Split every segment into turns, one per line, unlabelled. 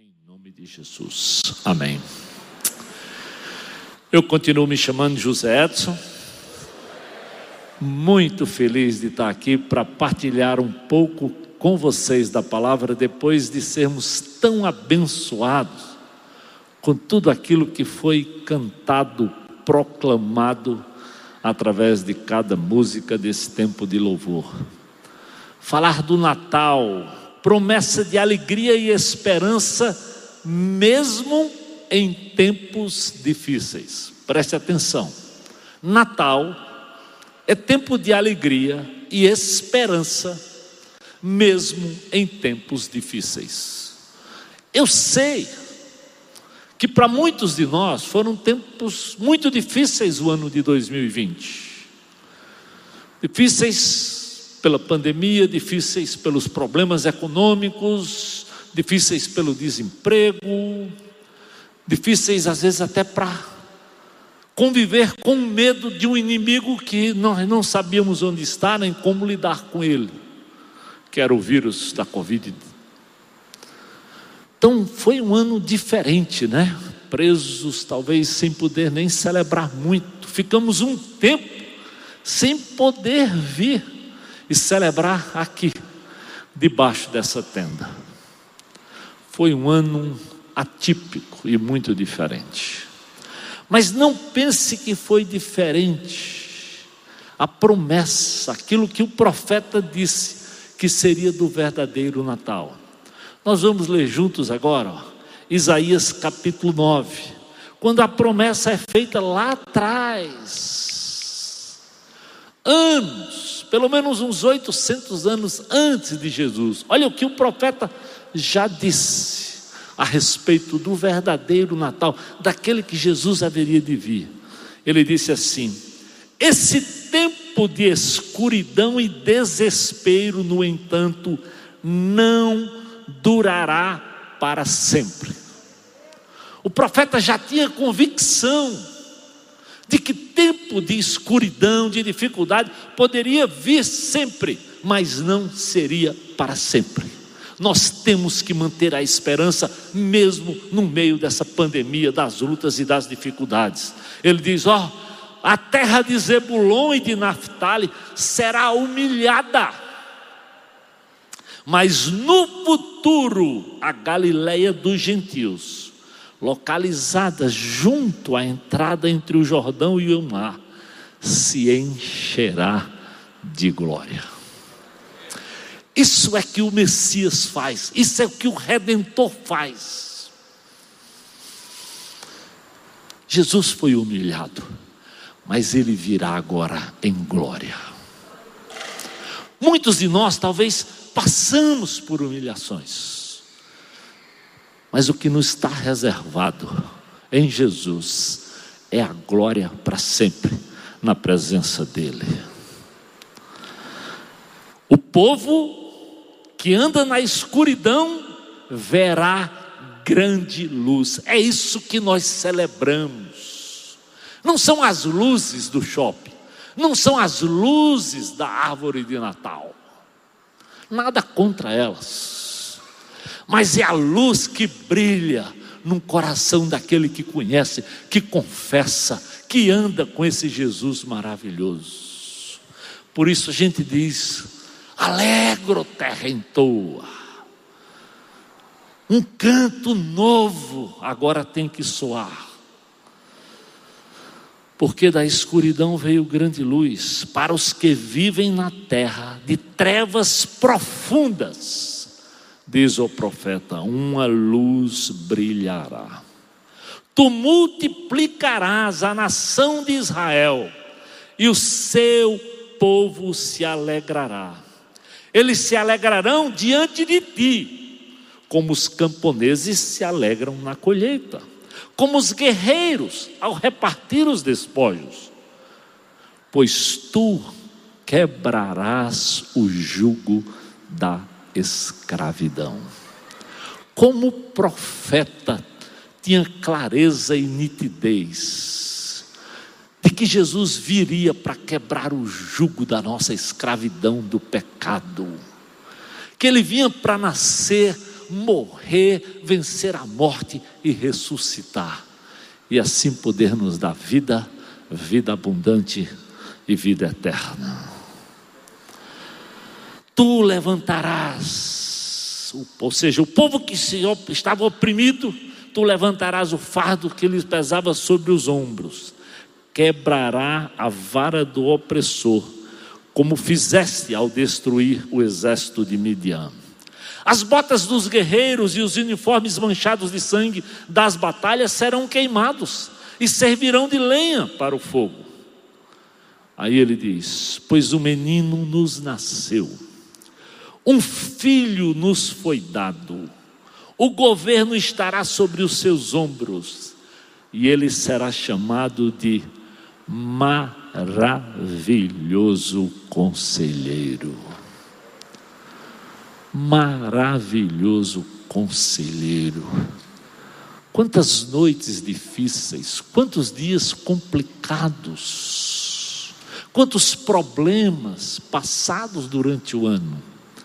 Em nome de Jesus, amém. Eu continuo me chamando José Edson, muito feliz de estar aqui para partilhar um pouco com vocês da palavra, depois de sermos tão abençoados com tudo aquilo que foi cantado, proclamado através de cada música desse tempo de louvor. Falar do Natal, promessa de alegria e esperança, mesmo em tempos difíceis. Preste atenção, Natal é tempo de alegria e esperança, mesmo em tempos difíceis. Eu sei que para muitos de nós foram tempos muito difíceis o ano de 2020. Difíceis pela pandemia, difíceis pelos problemas econômicos, difíceis pelo desemprego, difíceis às vezes até para conviver com o medo de um inimigo que nós não sabíamos onde está, nem como lidar com ele, que era o vírus da Covid. Então foi um ano diferente, né? Presos, talvez sem poder nem celebrar muito. Ficamos um tempo sem poder vir e celebrar aqui, debaixo dessa tenda. Foi um ano atípico e muito diferente. Mas não pense que foi diferente. A promessa, aquilo que o profeta disse que seria do verdadeiro Natal. Nós vamos ler juntos agora, Isaías capítulo 9, quando a promessa é feita lá atrás, anos, pelo menos uns 800 anos antes de Jesus. Olha o que o profeta já disse a respeito do verdadeiro Natal, daquele que Jesus haveria de vir. Ele disse assim: esse tempo de escuridão e desespero, no entanto, não durará para sempre. O profeta já tinha convicção de que tempo de escuridão, de dificuldade poderia vir sempre, mas não seria para sempre. Nós temos que manter a esperança mesmo no meio dessa pandemia, das lutas e das dificuldades. Ele diz: a terra de Zebulon e de Naftali será humilhada, mas no futuro a Galileia dos gentios, localizada junto à entrada entre o Jordão e o mar, se encherá de glória. Isso é que o Messias faz, isso é o que o Redentor faz. Jesus foi humilhado, mas ele virá agora em glória. Muitos de nós talvez passamos por humilhações, mas o que nos está reservado em Jesus é a glória para sempre na presença dele. O povo que anda na escuridão verá grande luz. É isso que nós celebramos. Não são as luzes do shopping, não são as luzes da árvore de Natal, nada contra elas, mas é a luz que brilha no coração daquele que conhece, que confessa, que anda com esse Jesus maravilhoso. Por isso a gente diz: alegro terra em toa. Um canto novo agora tem que soar, porque da escuridão veio grande luz para os que vivem na terra de trevas profundas. Diz o profeta: uma luz brilhará. Tu multiplicarás a nação de Israel, e o seu povo se alegrará. Eles se alegrarão diante de ti, como os camponeses se alegram na colheita, como os guerreiros ao repartir os despojos, pois tu quebrarás o jugo da escravidão. Como o profeta tinha clareza e nitidez de que Jesus viria para quebrar o jugo da nossa escravidão do pecado, que ele vinha para nascer morrer, vencer a morte e ressuscitar. E assim poder nos dar vida, vida abundante e vida eterna. Tu levantarás, ou seja, o povo que estava oprimido, tu levantarás o fardo que lhes pesava sobre os ombros, quebrará a vara do opressor, como fizeste ao destruir o exército de Midian. As botas dos guerreiros e os uniformes manchados de sangue das batalhas serão queimados e servirão de lenha para o fogo. Aí ele diz: pois um menino nos nasceu, um filho nos foi dado, o governo estará sobre os seus ombros, e ele será chamado de Maravilhoso Conselheiro. Maravilhoso Conselheiro. Quantas noites difíceis, quantos dias complicados, quantos problemas passados durante o ano.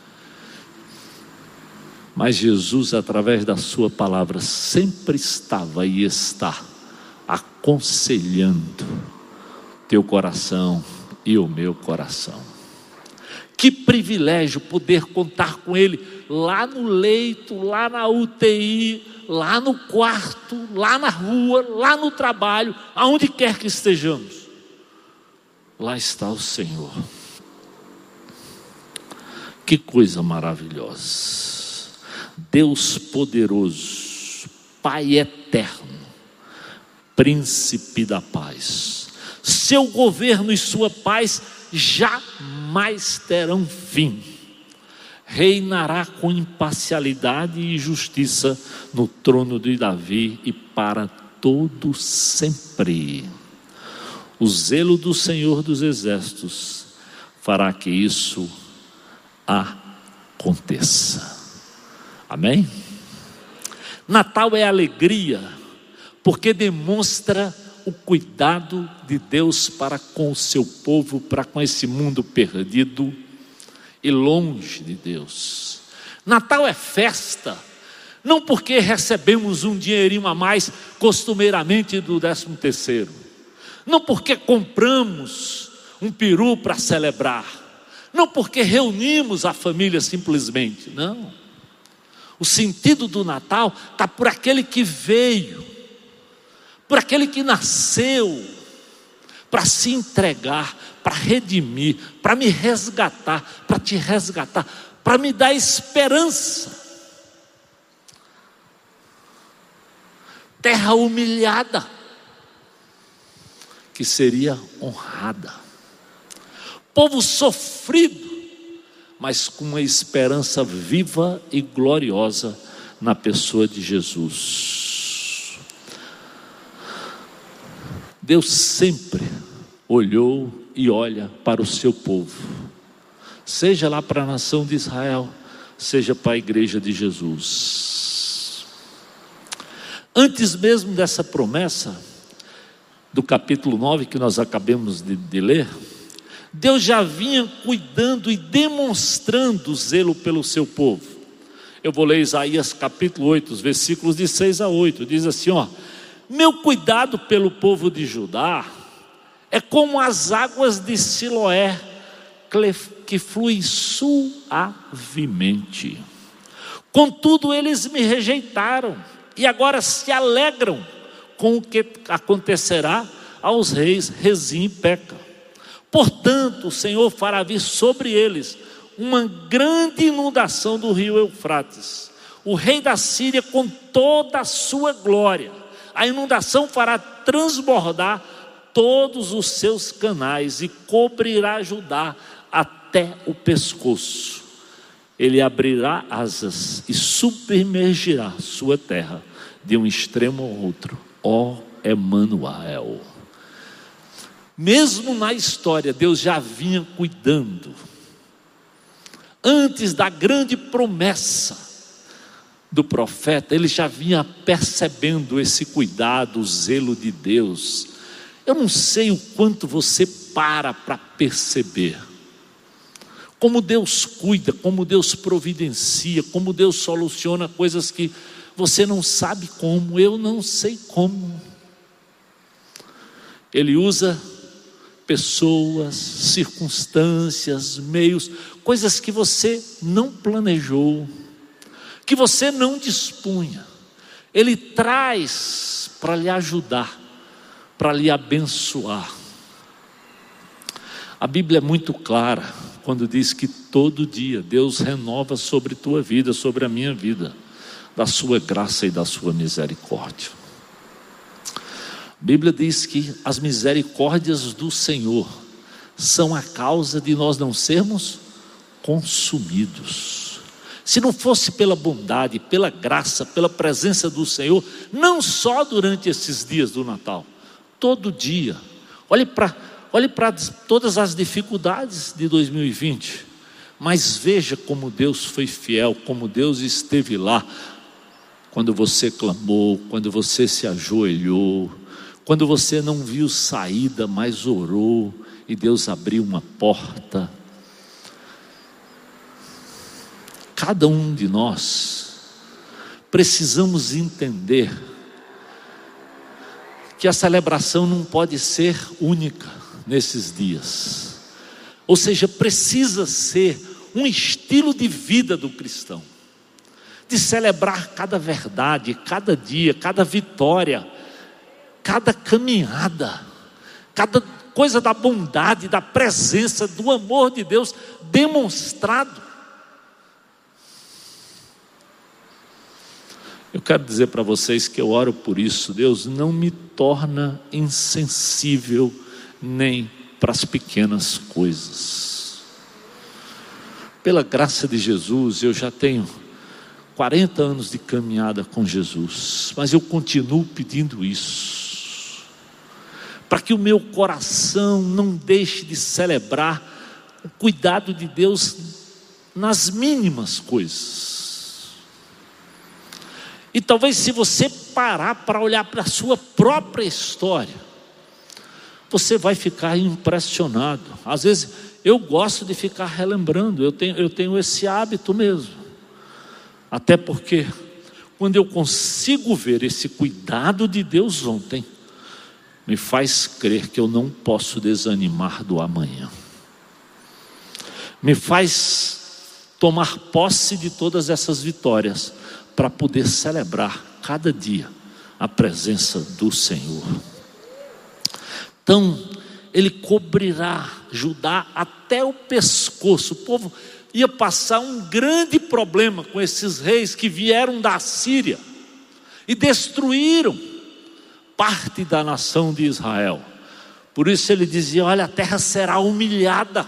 Mas Jesus, através da sua palavra, sempre estava e está aconselhando teu coração e o meu coração. Que privilégio poder contar com Ele lá no leito, lá na UTI, lá no quarto, lá na rua, lá no trabalho, aonde quer que estejamos. Lá está o Senhor. Que coisa maravilhosa. Deus poderoso, Pai eterno, Príncipe da paz. Seu governo e sua paz jamais terão fim. Reinará com imparcialidade e justiça no trono de Davi e para todo sempre. O zelo do Senhor dos Exércitos fará que isso aconteça. Amém? Natal é alegria, porque demonstra o cuidado de Deus para com o seu povo, para com esse mundo perdido e longe de Deus. Natal é festa, não porque recebemos um dinheirinho a mais costumeiramente do 13º, não porque compramos um peru para celebrar, não porque reunimos a família simplesmente, não. O sentido do Natal está por aquele que veio, por aquele que nasceu, para se entregar, para redimir, para me resgatar, para te resgatar, para me dar esperança. Terra humilhada, que seria honrada. Povo sofrido, mas com uma esperança viva e gloriosa na pessoa de Jesus. Deus sempre olhou e olha para o seu povo, seja lá para a nação de Israel, seja para a igreja de Jesus. Antes mesmo dessa promessa, do capítulo 9 que nós acabamos de ler, Deus já vinha cuidando e demonstrando zelo pelo seu povo. Eu vou ler Isaías capítulo 8, os versículos de 6 a 8, diz assim, meu cuidado pelo povo de Judá é como as águas de Siloé, que fluem suavemente. Contudo, eles me rejeitaram e agora se alegram com o que acontecerá aos reis Rezim e Peca. Portanto, o Senhor fará vir sobre eles uma grande inundação do rio Eufrates, o rei da Síria com toda a sua glória. A inundação fará transbordar todos os seus canais e cobrirá Judá até o pescoço. Ele abrirá asas e submergirá sua terra de um extremo ao outro. Ó Emanuel. Mesmo na história, Deus já vinha cuidando. Antes da grande promessa do profeta, ele já vinha percebendo esse cuidado, o zelo de Deus. Eu não sei o quanto você para perceber como Deus cuida, como Deus providencia, como Deus soluciona coisas que você não sabe como, eu não sei como. Ele usa pessoas, circunstâncias, meios, coisas que você não planejou, que você não dispunha. Ele traz para lhe ajudar, para lhe abençoar. A Bíblia é muito clara quando diz que todo dia Deus renova sobre tua vida, sobre a minha vida, da sua graça e da sua misericórdia. A Bíblia diz que as misericórdias do Senhor são a causa de nós não sermos consumidos. Se não fosse pela bondade, pela graça, pela presença do Senhor, não só durante esses dias do Natal, todo dia, olhe para todas as dificuldades de 2020, mas veja como Deus foi fiel, como Deus esteve lá, quando você clamou, quando você se ajoelhou, quando você não viu saída, mas orou, e Deus abriu uma porta. Cada um de nós precisamos entender que a celebração não pode ser única nesses dias, ou seja, precisa ser um estilo de vida do cristão, de celebrar cada verdade, cada dia, cada vitória, cada caminhada, cada coisa da bondade, da presença, do amor de Deus demonstrado. Eu quero dizer para vocês que eu oro por isso. Deus, não me torna insensível nem para as pequenas coisas. Pela graça de Jesus, eu já tenho 40 anos de caminhada com Jesus, mas eu continuo pedindo isso, para que o meu coração não deixe de celebrar o cuidado de Deus nas mínimas coisas. E talvez, se você parar para olhar para a sua própria história, você vai ficar impressionado. Às vezes eu gosto de ficar relembrando, eu tenho esse hábito mesmo, até porque quando eu consigo ver esse cuidado de Deus ontem, me faz crer que eu não posso desanimar do amanhã, me faz tomar posse de todas essas vitórias, para poder celebrar cada dia a presença do Senhor. Então, Ele cobrirá Judá até o pescoço. O povo ia passar um grande problema com esses reis que vieram da Síria e destruíram parte da nação de Israel. Por isso ele dizia: olha, a terra será humilhada,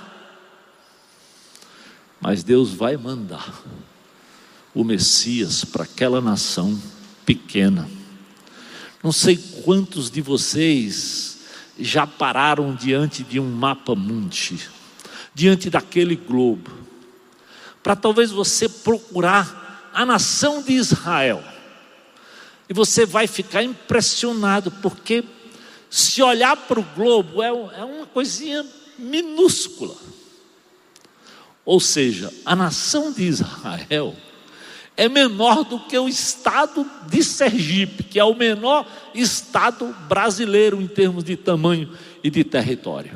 mas Deus vai mandar o Messias para aquela nação pequena. Não sei quantos de vocês já pararam diante de um mapa mundi, diante daquele globo, para talvez você procurar a nação de Israel, e você vai ficar impressionado, porque se olhar para o globo é uma coisinha minúscula. Ou seja, a nação de Israel é menor do que o estado de Sergipe, que é o menor estado brasileiro em termos de tamanho e de território.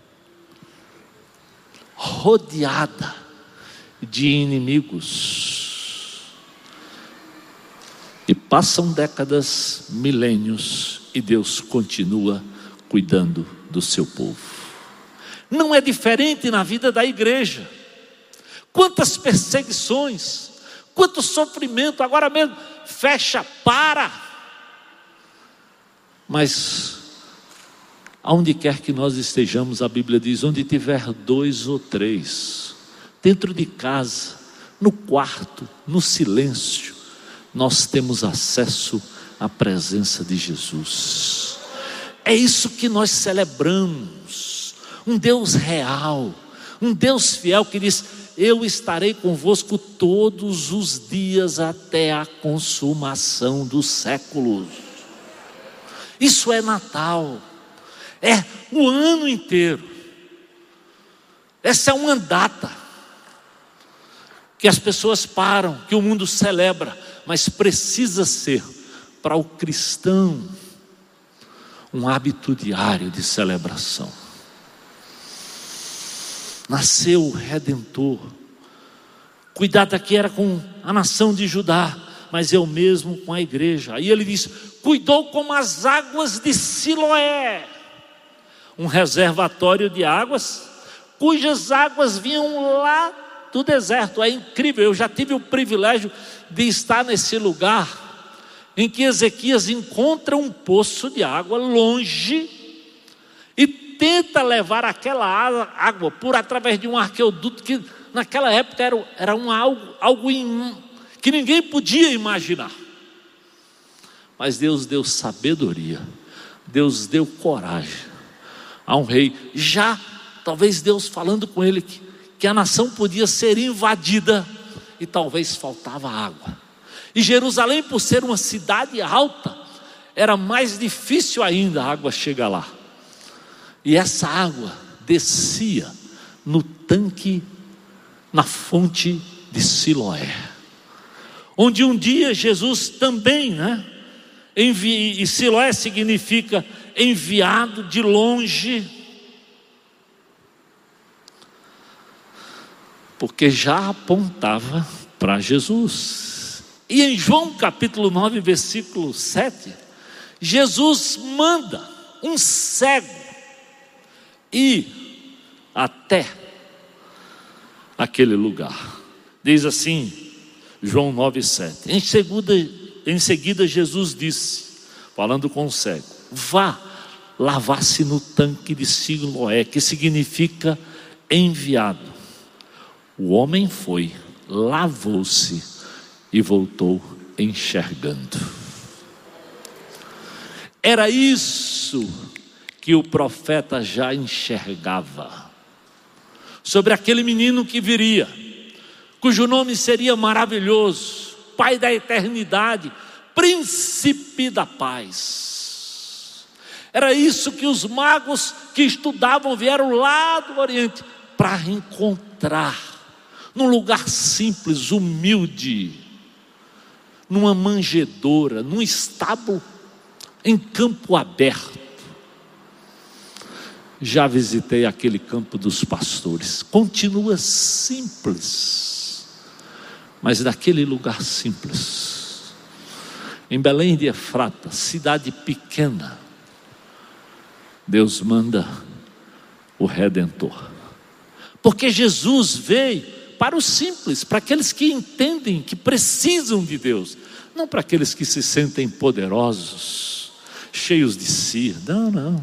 Rodeada de inimigos. E passam décadas, milênios, e Deus continua cuidando do seu povo. Não é diferente na vida da igreja. Quantas perseguições, quanto sofrimento, agora mesmo, fecha, para. Mas, aonde quer que nós estejamos, a Bíblia diz: onde tiver 2 ou 3, dentro de casa, no quarto, no silêncio, nós temos acesso à presença de Jesus. É isso que nós celebramos, um Deus real, um Deus fiel que diz: eu estarei convosco todos os dias até a consumação dos séculos. Isso é Natal, é o ano inteiro. Essa é uma data, que as pessoas param, que o mundo celebra, mas precisa ser para o cristão um hábito diário de celebração. Nasceu o Redentor. Cuidado aqui era com a nação de Judá, mas eu mesmo com a igreja. Aí ele diz: cuidou como as águas de Siloé, um reservatório de águas, cujas águas vinham lá do deserto. É incrível, eu já tive o privilégio de estar nesse lugar em que Ezequias encontra um poço de água longe e tenta levar aquela água por através de um arqueoduto que naquela época era algo que ninguém podia imaginar. Mas Deus deu sabedoria, Deus deu coragem a um rei, já talvez Deus falando com ele que a nação podia ser invadida e talvez faltava água. E Jerusalém, por ser uma cidade alta, era mais difícil ainda a água chegar lá. E essa água descia no tanque, na fonte de Siloé, onde um dia Jesus também, e Siloé significa enviado de longe, porque já apontava para Jesus. E em João capítulo 9, versículo 7, Jesus manda um cego ir até aquele lugar. Diz assim, João 9, 7. Em seguida Jesus disse, falando com o cego: vá lavar-se no tanque de Siloé, que significa enviado. O homem foi, lavou-se e voltou enxergando. Era isso que o profeta já enxergava sobre aquele menino que viria, cujo nome seria maravilhoso, Pai da eternidade, Príncipe da paz. Era isso que os magos que estudavam vieram lá do Oriente para encontrar, num lugar simples, humilde, numa manjedoura, num estábulo, em campo aberto. Já visitei aquele campo dos pastores, continua simples, mas daquele lugar simples, em Belém de Efrata, cidade pequena, Deus manda o Redentor, porque Jesus veio para os simples, para aqueles que entendem que precisam de Deus, não para aqueles que se sentem poderosos, cheios de si. Não.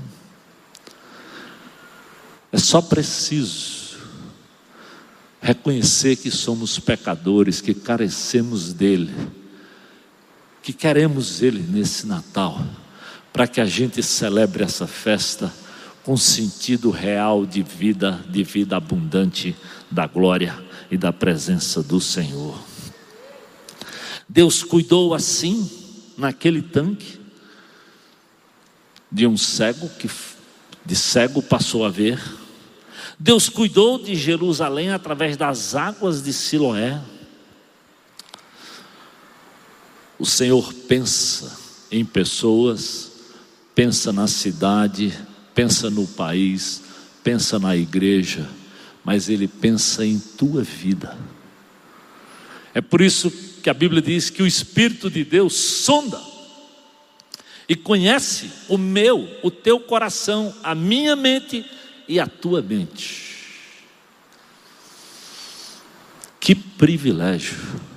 É só preciso reconhecer que somos pecadores, que carecemos dele, que queremos ele nesse Natal, para que a gente celebre essa festa com sentido real de vida abundante, da glória e da presença do Senhor. Deus cuidou assim, naquele tanque, de um cego, que de cego passou a ver. Deus cuidou de Jerusalém através das águas de Siloé. O Senhor pensa em pessoas, pensa na cidade, pensa no país, pensa na igreja, mas Ele pensa em tua vida. É por isso que a Bíblia diz que o Espírito de Deus sonda e conhece o teu coração, a minha mente e a tua mente. Que privilégio!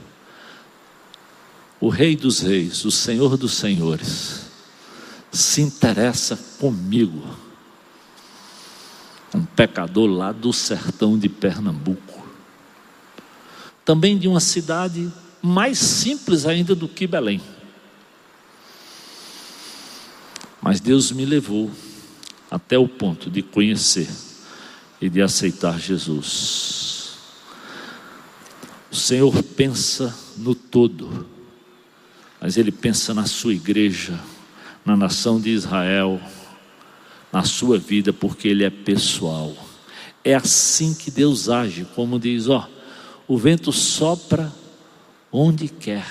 O Rei dos Reis, o Senhor dos Senhores, se interessa comigo, um pecador lá do sertão de Pernambuco, também de uma cidade mais simples ainda do que Belém. Mas Deus me levou até o ponto de conhecer e de aceitar Jesus. O Senhor pensa no todo, mas Ele pensa na sua igreja, na nação de Israel, na sua vida, porque Ele é pessoal. É assim que Deus age, como diz, O vento sopra onde quer,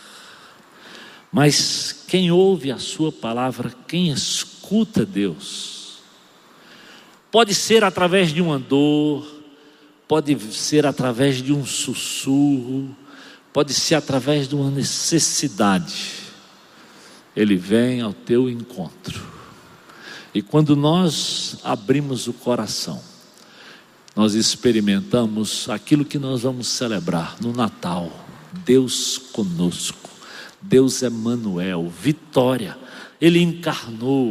mas quem ouve a sua palavra, quem escuta Deus, pode ser através de uma dor, pode ser através de um sussurro, pode ser através de uma necessidade. Ele vem ao teu encontro. E quando nós abrimos o coração, nós experimentamos aquilo que nós vamos celebrar no Natal: Deus conosco, Deus Emanuel, vitória. Ele encarnou.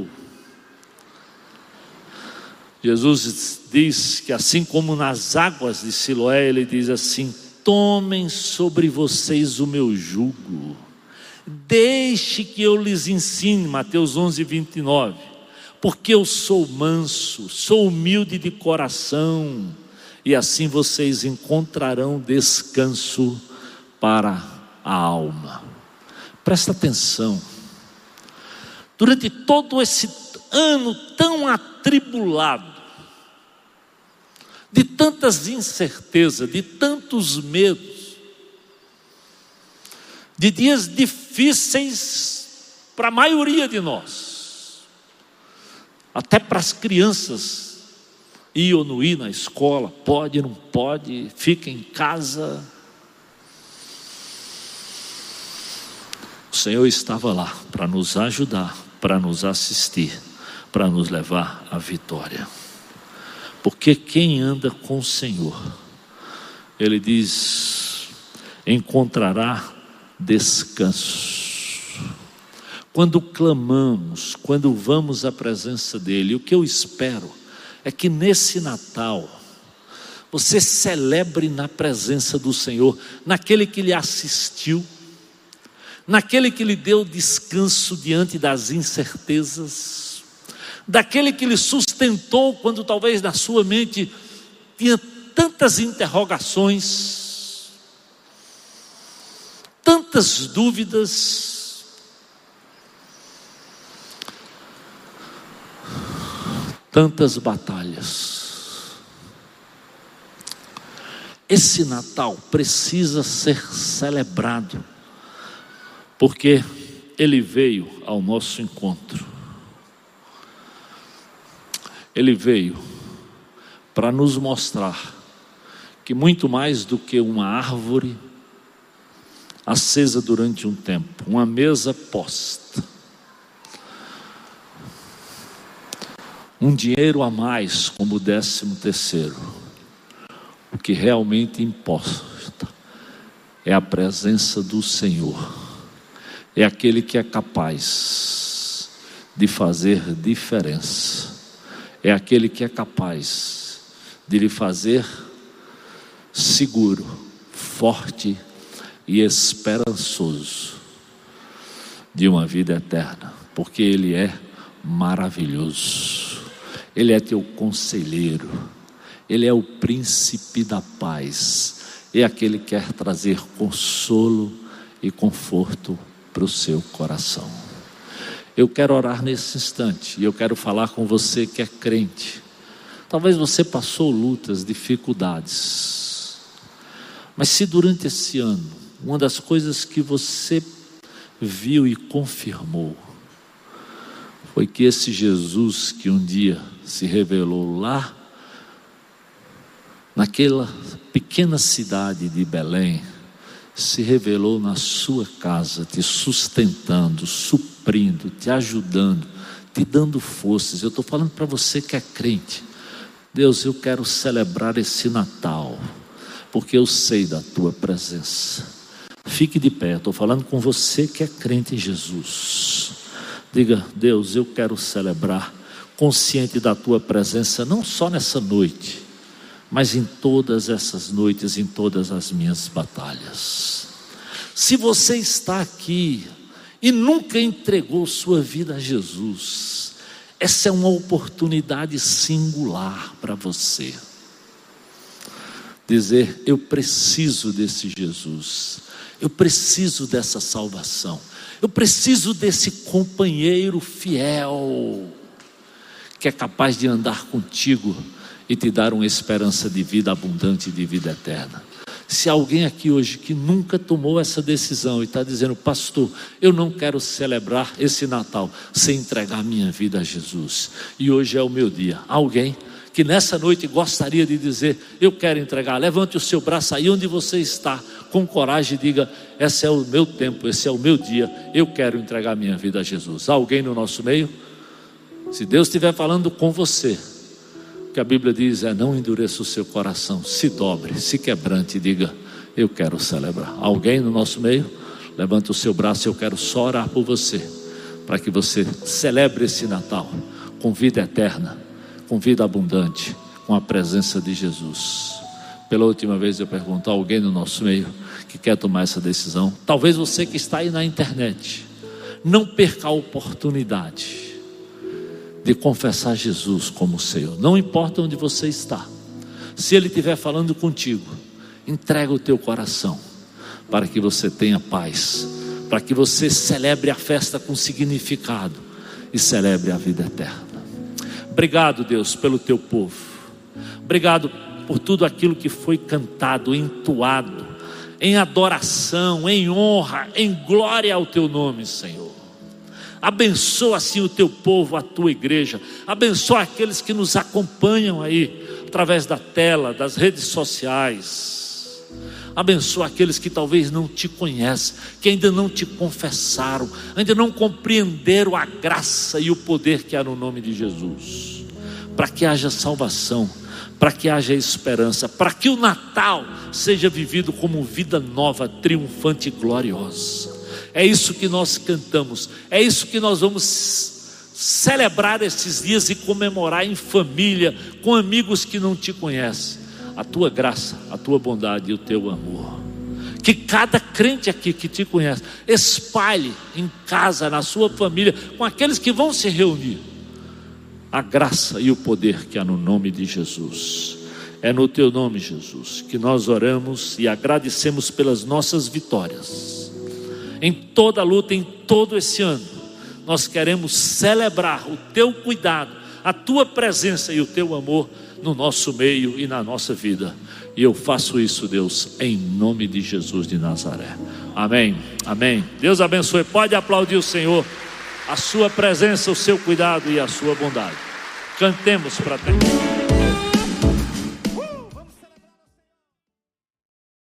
Jesus diz que assim como nas águas de Siloé, ele diz assim: tomem sobre vocês o meu jugo, deixe que eu lhes ensine. Mateus 11:29. Porque eu sou manso, sou humilde de coração, e assim vocês encontrarão descanso para a alma. Presta atenção. Durante todo esse ano tão atribulado, de tantas incertezas, de tantos medos, de dias difíceis para a maioria de nós, até para as crianças, ir ou não ir na escola, pode, não pode, fica em casa. O Senhor estava lá para nos ajudar, para nos assistir, para nos levar à vitória. Porque quem anda com o Senhor, Ele diz, encontrará descanso. Quando clamamos, quando vamos à presença dEle, o que eu espero é que nesse Natal você celebre na presença do Senhor, naquele que lhe assistiu, naquele que lhe deu descanso diante das incertezas, daquele que lhe sustentou quando talvez na sua mente tinha tantas interrogações, tantas dúvidas, tantas batalhas. Esse Natal precisa ser celebrado, porque Ele veio ao nosso encontro. Ele veio para nos mostrar que muito mais do que uma árvore acesa durante um tempo, uma mesa posta, um dinheiro a mais como 13º, o que realmente importa é a presença do Senhor. É aquele que é capaz de fazer diferença, é aquele que é capaz de lhe fazer seguro, forte e esperançoso de uma vida eterna, porque Ele é maravilhoso. Ele é teu conselheiro, Ele é o príncipe da paz, é aquele que quer trazer consolo e conforto para o seu coração. Eu quero orar nesse instante, e eu quero falar com você que é crente. Talvez você passou lutas, dificuldades, mas se durante esse ano, uma das coisas que você viu e confirmou, foi que esse Jesus que um dia se revelou lá, naquela pequena cidade de Belém, se revelou na sua casa, te sustentando, suprindo, te ajudando, te dando forças. Eu estou falando para você que é crente. Deus, eu quero celebrar esse Natal, porque eu sei da tua presença. Fique de pé, estou falando com você que é crente em Jesus. Diga: Deus, eu quero celebrar, consciente da tua presença, não só nessa noite, mas em todas essas noites, em todas as minhas batalhas. Se você está aqui e nunca entregou sua vida a Jesus, essa é uma oportunidade singular para você. Dizer: eu preciso desse Jesus, eu preciso dessa salvação, eu preciso desse companheiro fiel, que é capaz de andar contigo e te dar uma esperança de vida abundante, de vida eterna. Se alguém aqui hoje que nunca tomou essa decisão e está dizendo: pastor, eu não quero celebrar esse Natal sem entregar minha vida a Jesus, e hoje é o meu dia. Alguém que nessa noite gostaria de dizer: eu quero entregar, levante o seu braço aí onde você está, com coragem, e diga: esse é o meu tempo, esse é o meu dia, eu quero entregar minha vida a Jesus. Há alguém no nosso meio? Se Deus estiver falando com você, o que a Bíblia diz é: não endureça o seu coração, se dobre, se quebrante e diga: eu quero celebrar. Alguém no nosso meio? Levante o seu braço, eu quero só orar por você, para que você celebre esse Natal com vida eterna, com vida abundante, com a presença de Jesus. Pela última vez eu pergunto: alguém no nosso meio que quer tomar essa decisão? Talvez você que está aí na internet, não perca a oportunidade de confessar Jesus como Senhor. Não importa onde você está, se Ele estiver falando contigo, entrega o teu coração, para que você tenha paz, para que você celebre a festa com significado e celebre a vida eterna. Obrigado, Deus, pelo teu povo. Obrigado por tudo aquilo que foi cantado, entoado, em adoração, em honra, em glória ao teu nome, Senhor. Abençoa assim o teu povo, a tua igreja. Abençoa aqueles que nos acompanham aí, através da tela, das redes sociais. Abençoa aqueles que talvez não te conhecem, que ainda não te confessaram, ainda não compreenderam a graça e o poder que há no nome de Jesus, para que haja salvação, para que haja esperança, para que o Natal seja vivido como vida nova, triunfante e gloriosa. É isso que nós cantamos, é isso que nós vamos celebrar esses dias e comemorar em família, com amigos que não te conhecem. A tua graça, a tua bondade e o teu amor. Que cada crente aqui que te conhece espalhe em casa, na sua família, com aqueles que vão se reunir, a graça e o poder que há no nome de Jesus. É no teu nome, Jesus, que nós oramos e agradecemos pelas nossas vitórias. Em toda a luta, em todo esse ano, nós queremos celebrar o teu cuidado, a tua presença e o teu amor no nosso meio e na nossa vida. E eu faço isso, Deus, em nome de Jesus de Nazaré. Amém, amém. Deus abençoe. Pode aplaudir o Senhor, a sua presença, o seu cuidado e a sua bondade. Cantemos para terminar.